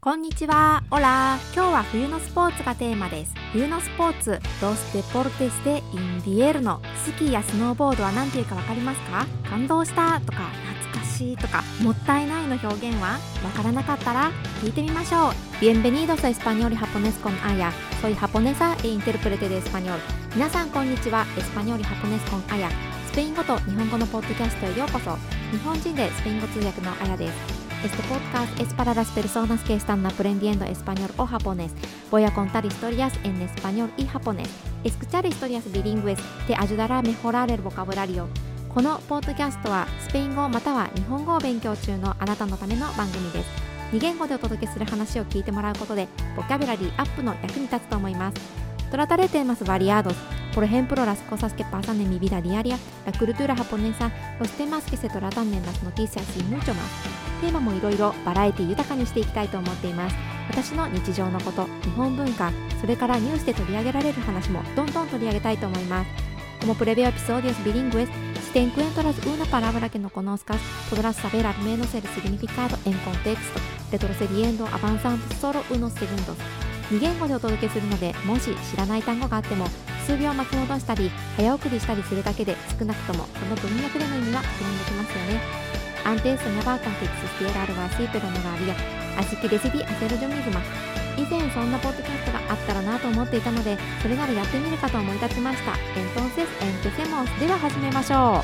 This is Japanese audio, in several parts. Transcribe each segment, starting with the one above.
こんにちは。オラ。今日は冬のスポーツがテーマです。冬のスポーツ、ロスデポルテスでインビエルノ。スキーやスノーボードは何ていうかわかりますか？感動したとか懐かしいとかもったいないの表現はわからなかったら聞いてみましょう。Bienvenidos a Español y Japonés con Aya. Soy japonesa e intérprete de español. 皆さんこんにちは。エスパニョールハポネスコンアヤ。スペイン語と日本語のポッドキャストへようこそ。日本人でスペイン語通訳のアヤです。Este podcast es para las personas que están aprendiendo español o japonés. Voy a contar historias en español y japonés. Escuchar historias bilingües te ayudará a mejorar el vocabulario. このポッドキャストはスペイン語または日本語を勉強中のあなたのための番組です。2言語でお届けする話を聞いてもらうことでボキャブラリーアップの役に立つと思います。Trataré temas variados. Por ejemplo, las cosas que pasan en mi vida diaria, la cultura japonesa, los temas que se tratan en las noticias y mucho más. テーマもいろいろバラエティ豊かにしていきたいと思っています。私の日常のこと、日本文化、それからニュースで取り上げられる話もどんどん取り上げたいと思います。Como previo episodios bilingües, si te encuentras una palabra que no conozcas, podrás saber al menos el significado en contexto, retrocediendo, avanzando solo unos segundos. 2言語でお届けするので、もし知らない単語があっても数秒巻き戻したり早送りしたりするだけで少なくともその文脈での意味は確認できますよね。Antes soñaba con que existiera algo así, pero no lo había. Así que decidí hacerlo yo misma. 以前そんなポッドキャストがあったらなと思っていたので、それならやってみるかと思い立ちました。Entonces, empecemos. では始めましょう。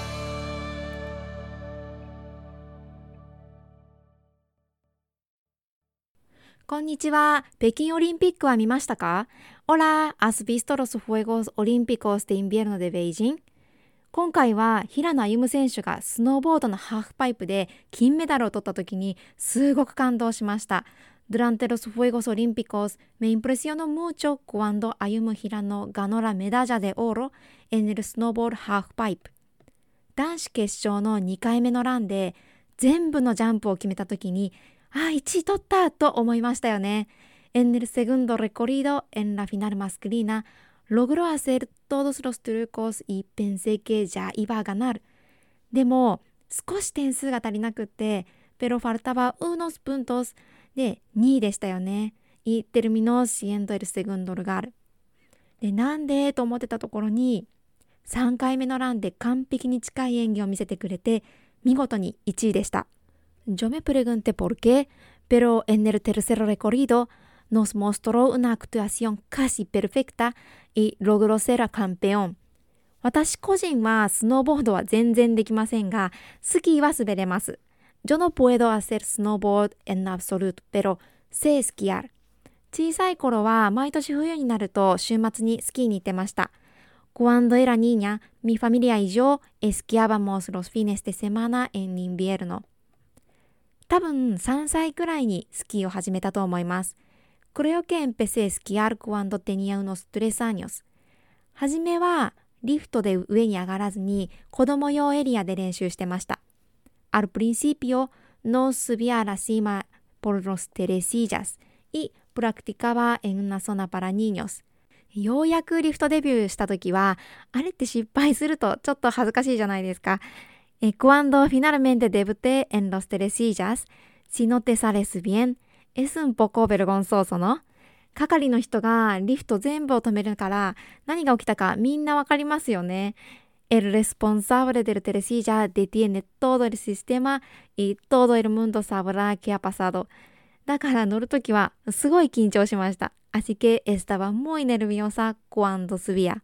こんにちは。北京オリンピックは見ましたか？ Hola, ¿has visto los Juegos Olímpicos de Invierno de Beijing?今回は平野歩夢選手がスノーボードのハーフパイプで金メダルを取った時にすごく感動しました。Durante los Juegos Olímpicos me impresionó mucho cuando Ayumu Hirano ganó la medalla de oro en el snowboard half pipe。男子決勝の2回目のランで全部のジャンプを決めた時に1位取ったと思いましたよね。En el segundo recorrido en la final masculina,Logró hacer todos los trucos y pensé que ya iba a ganar. でも少し点数が足りなくって、pero faltaba unos puntos で2位でしたよね。Y terminó siendo el segundo lugar. で、なんでと思ってたところに、3回目のランで完璧に近い演技を見せてくれて、見事に1位でした。Yo me pregunté por qué, pero en el tercer recorrido,Nos mostró una actuación casi perfecta y logró ser campeón。私個人はスノーボードは全然できませんが、スキーは滑れます。Yo no puedo hacer snowboard en absoluto, pero sé esquiar。小さい頃は毎年冬になると週末にスキーに行ってました。Cuando era niña, mi familia y yo esquiábamos los fines de semana en invierno。多分3歳くらいにスキーを始めたと思います。Creo que empecé a esquiar cuando tenía unos 3 años. はじめはリフトで上に上がらずに子供用エリアで練習してました。Al principio no subía a la cima por los telesillas y practicaba en una zona para niños. ようやくリフトデビューした時は、あれって失敗するとちょっと恥ずかしいじゃないですか。Cuando finalmente debuté en los telesillas, si no te sales bien,Es un poco vergonzoso, ¿no? 係の人がリフト全部を止めるから何が起きたかみんなわかりますよね。El responsable del telesilla detiene todo el sistema y todo el mundo sabrá qué ha pasado. だから乗るときはすごい緊張しました。Así que estaba muy nerviosa cuando subía.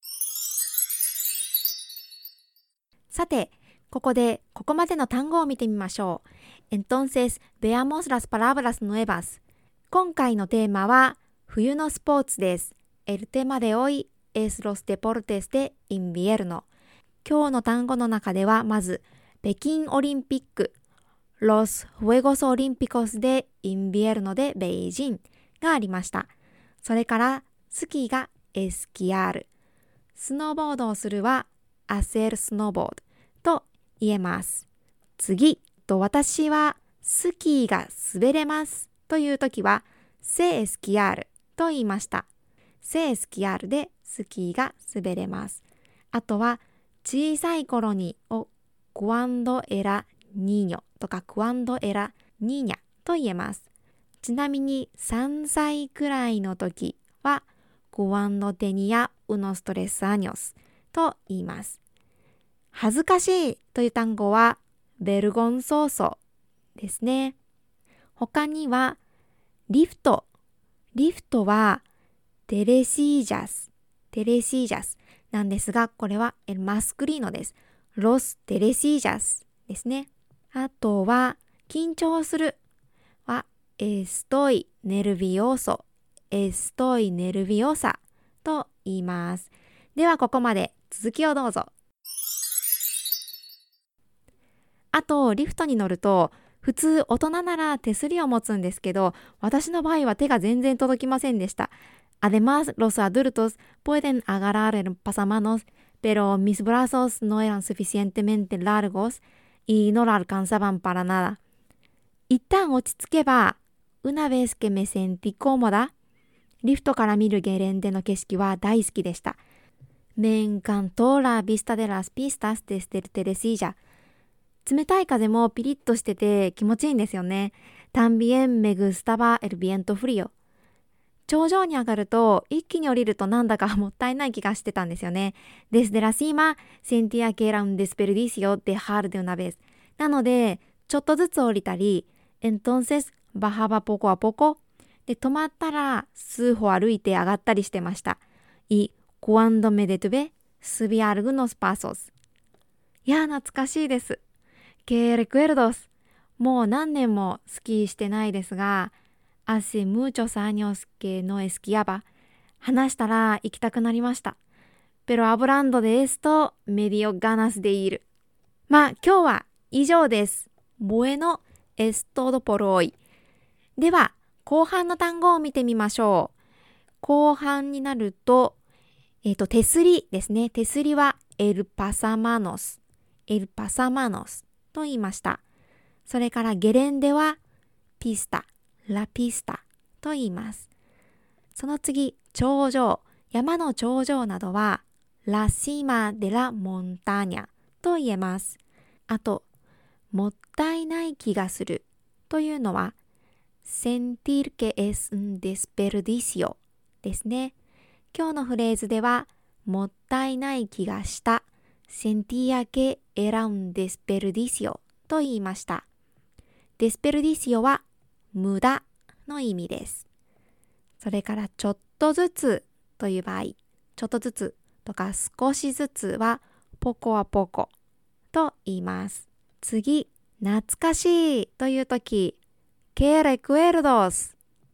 さて、ここまでの単語を見てみましょう。Entonces, veamos las palabras nuevas. 今回のテーマは冬のスポーツです。El tema de hoy es los deportes de invierno. 今日の単語の中ではまず北京オリンピック Los Juegos Olímpicos de Invierno de Beijing がありました。それからスキーがエスキアール、スノーボードをするはhacer snowboard と言えます。次、私はスキーが滑れますというときはsé esquiarと言いました。sé esquiarでスキーが滑れます。あとは小さい頃にを cuando era niño とか cuando era niña と言えます。 ちなみに3歳くらいの時はcuando tenía unos 3 años と言います。恥ずかしいという単語はvergonzosoですね。他にはリフトはテレシージャスなんですが、これはel masculinoです。los teresillasですね。あとは緊張するはestoy nerviosa と言います。ではここまで、続きをどうぞ。あとリフトに乗ると普通大人なら手すりを持つんですけど、私の場合は手が全然届きませんでした。Además, los adultos pueden agarrar el pasamanos, pero mis brazos no eran suficientemente largos y no lo alcanzaban para nada. 一旦落ち着けば、una vez que me sentí cómoda、リフトから見るゲレンデの景色は大好きでした。Me encantó la vista de las pistas desde el Teresilla。冷たい風もピリッとしてて気持ちいいんですよね。También me gustaba el viento frío。頂上に上がると一気に降りるとなんだかもったいない気がしてたんですよね。Desde la cima sentía que era un desperdicio dejar de una vez。なのでちょっとずつ降りたり、entonces bajaba poco a poco。で止まったら数歩歩いて上がったりしてました。Y cuando me detuve subí algunos pasos。いや懐かしいです。Que recuerdos。もう何年もスキーしてないですが、hace muchos años que no esquiaba。話したら行きたくなりました。Pero hablando de esto me dio ganas de ir。まあ今日は以上です。Bueno es todo por hoy。では後半の単語を見てみましょう。後半になると、手すりですね。手すりはel pasamanos と言いました。それからゲレンデはla pista と言います。その次、頂上、山の頂上などはla cima de la montaña と言えます。あと、もったいない気がするというのはsentir que es un desperdicio ですね。今日のフレーズでは、もったいない気がした。sentía que era un desperdicio と言いました。desperdicio は無駄の意味です。それからちょっとずつという場合、ちょっとずつとか少しずつはpoco a pocoと言います。次、懐かしいというとき、¿Qué recuerdos？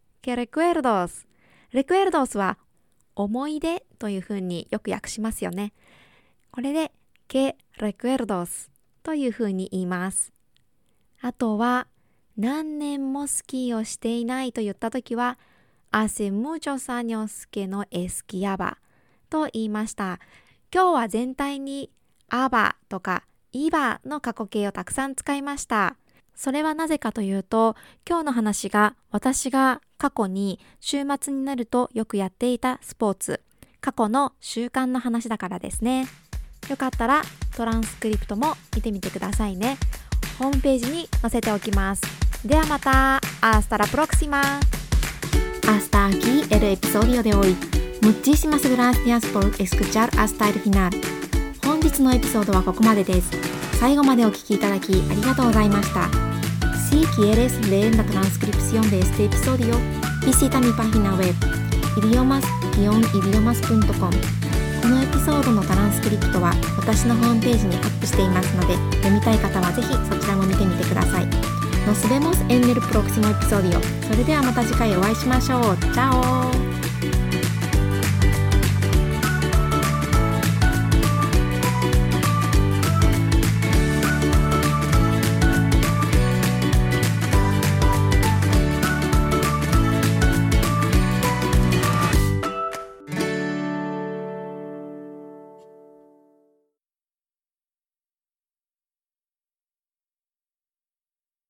recuerdos は思い出というふうによく訳しますよね。これで¿Qué recuerdos？ というふうに言います。あとは何年もスキーをしていないと言ったときはhace muchos años que no esquiaba と言いました。今日は全体にabaとかibaの過去形をたくさん使いました。それはなぜかというと、今日の話が私が過去に週末になるとよくやっていたスポーツ、過去の習慣の話だからですね。よかったらトランスクリプトも見てみてくださいね。ホームページに載せておきます。ではまた。Hasta la próxima. Hasta aquí el episodio de hoy. Muchísimas gracias por escuchar hasta el final. 本日のエピソードはここまでです。最後までお聞きいただきありがとうございました。Si quieres leer la transcripción de este episodio, visita mi página web idiomas-idiomas.com。 このエピソードのトランスクリプトは私のホームページにアップしていますので、読みたい方はぜひそちらも見てみてください。Nos vemos en el próximo episodio。それではまた次回お会いしましょう。チャオ。